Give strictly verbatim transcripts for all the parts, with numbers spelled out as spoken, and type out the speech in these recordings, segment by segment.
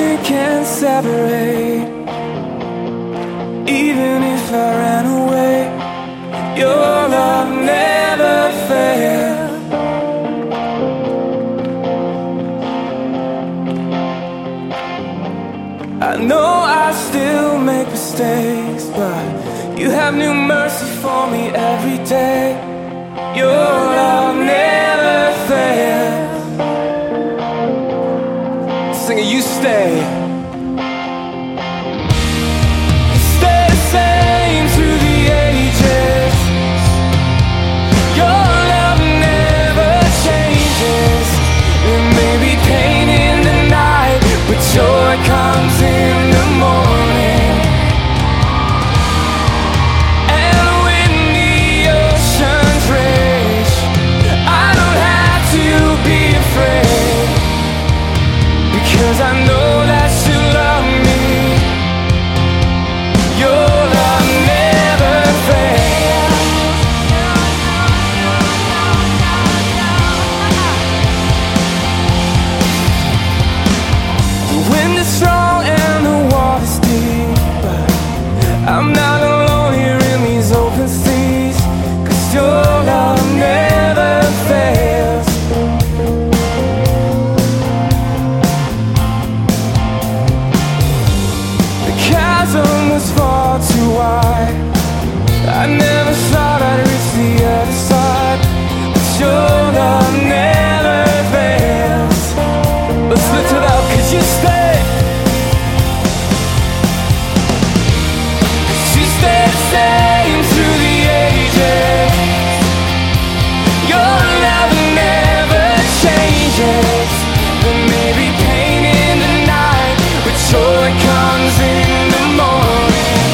nothing can separate. Even if I ran away, your love never failed. I know I still make mistakes, but you have new mercy for me every day. Your love never fails. Singing, you stay. You stay the same through the ages. Your love never changes. There may be pain in the night, but joy comes in the morning. And when the oceans rage, I don't have to be afraid, because I know that you love me. Your love never fails. The wind is strong and the water's deep, but I'm not alone here in these open seas, 'cause your love never fails. The chasm was far too wide. I never thought I'd reach the other side, but your love never fails. Let's lift it up, 'cause you stay. You stay the same through the ages. Your love never changes. There may be pain in the night, but joy comes in the morning.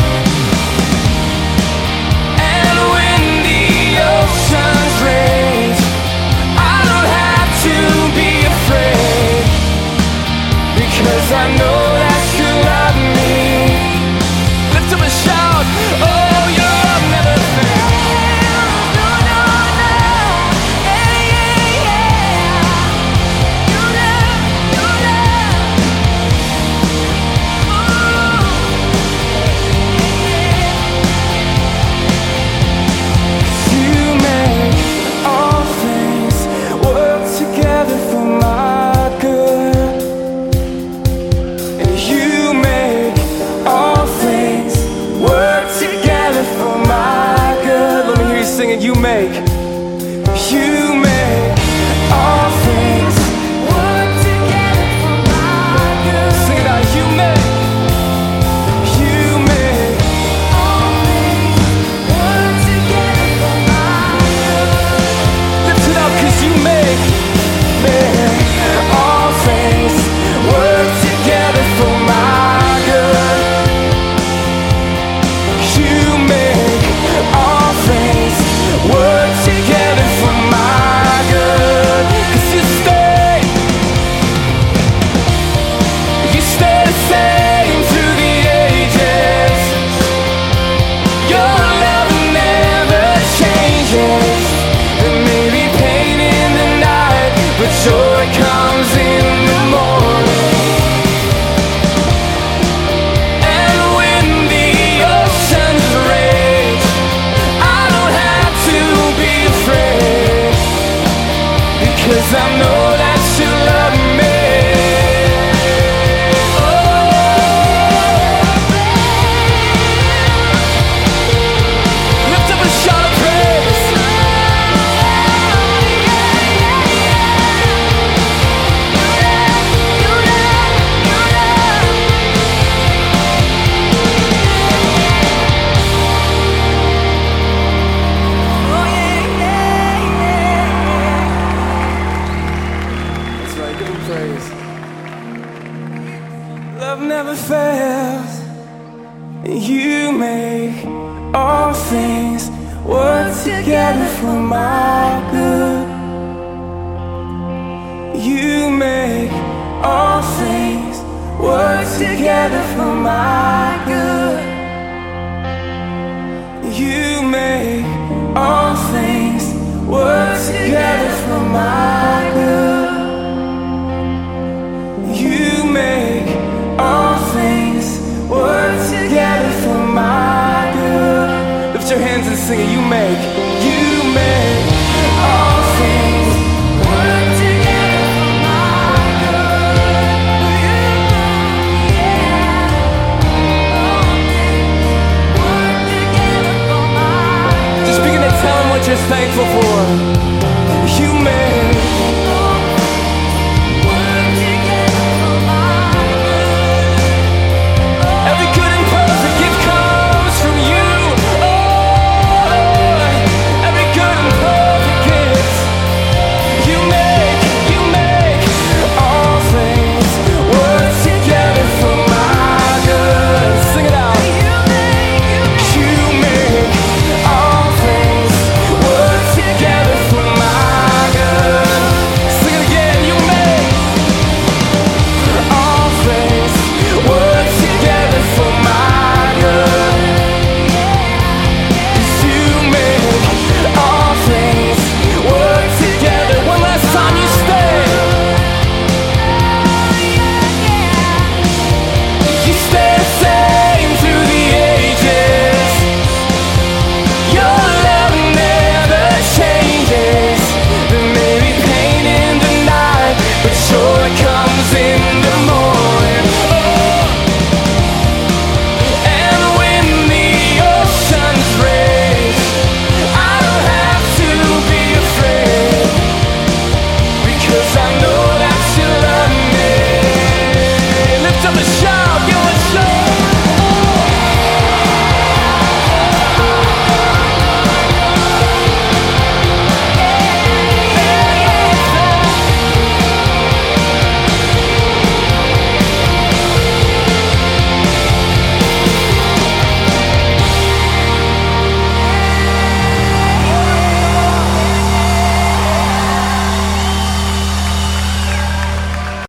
And when the oceans rage, I don't have to be afraid, because I know that you love me. Lift up a shout, oh, your love never fails. No, no, no, yeah, yeah, yeah. Your love, your love, oh, you make all things work together for my good. And you make all things work together for my good. Let me hear you singing. You make, you make all things work together for my good. Sing it out. You make, you make all things work together for my good. Lift it up, 'cause you make, make all things work together for my good. You make all things work together for my good. 'Cause you stay, you stay the same through the ages. Your love never changes. There may be pain in the night, but joy comes in the morning. And when the oceans rage, I don't have to be afraid, because I know that you love me. Oh, lift up a shout of praise. That's right, give him praise. Love never fails. You make all things work together for my good. You make all things work together for my good. You make all things work together for my good. You make sing it, you make